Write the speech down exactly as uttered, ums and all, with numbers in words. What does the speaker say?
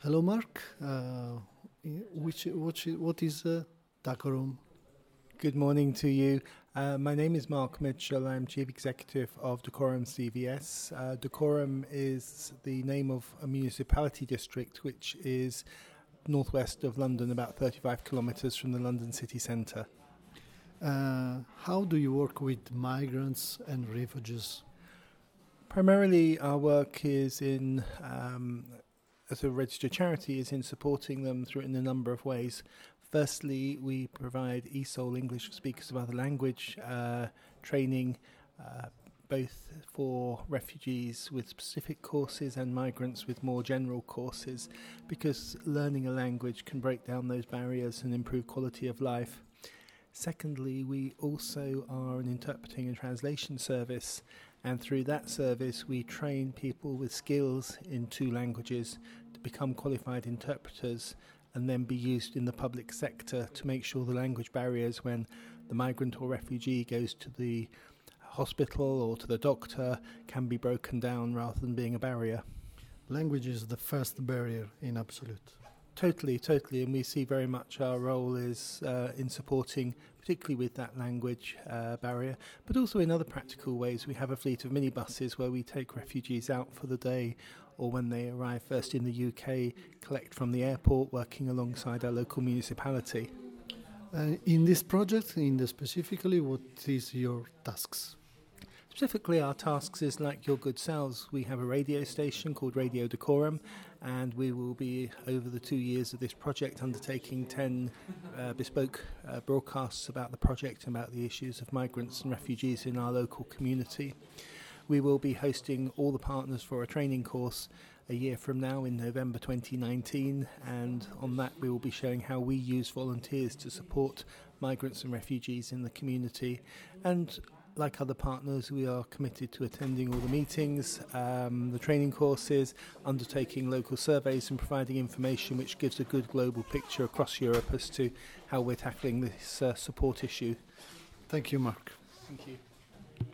Hello, Mark. Uh, which, which, what is uh, Dacorum? Good morning to you. Uh, my name is Mark Mitchell. I'm Chief Executive of Dacorum C V S. Uh, Dacorum is the name of a municipality district which is northwest of London, about thirty-five kilometres from the London city centre. Uh, how do you work with migrants and refugees? Primarily our work is in, um, as a registered charity, is in supporting them through in a number of ways. Firstly, we provide E S O L, English for Speakers of Other Language, uh, training uh, both for refugees with specific courses and migrants with more general courses, because learning a language can break down those barriers and improve quality of life. Secondly, we also are an interpreting and translation service, and through that service we train people with skills in two languages to become qualified interpreters and then be used in the public sector to make sure the language barriers when the migrant or refugee goes to the hospital or to the doctor can be broken down rather than being a barrier. Language is the first barrier in absolute. Totally, totally, and we see very much our role is uh, in supporting, particularly with that language uh, barrier, but also in other practical ways. We have a fleet of minibuses where we take refugees out for the day, or when they arrive first in the U K, collect from the airport, working alongside our local municipality. Uh, in this project, in the specifically, what is your tasks? Specifically, our tasks is like your good selves. We have a radio station called Radio Dacorum, and we will be, over the two years of this project, undertaking ten uh, bespoke uh, broadcasts about the project and about the issues of migrants and refugees in our local community. We will be hosting all the partners for a training course a year from now in November twenty nineteen, and on that we will be showing how we use volunteers to support migrants and refugees in the community. And like other partners, we are committed to attending all the meetings, um, the training courses, undertaking local surveys and providing information which gives a good global picture across Europe as to how we're tackling this uh, support issue. Thank you, Mark. Thank you.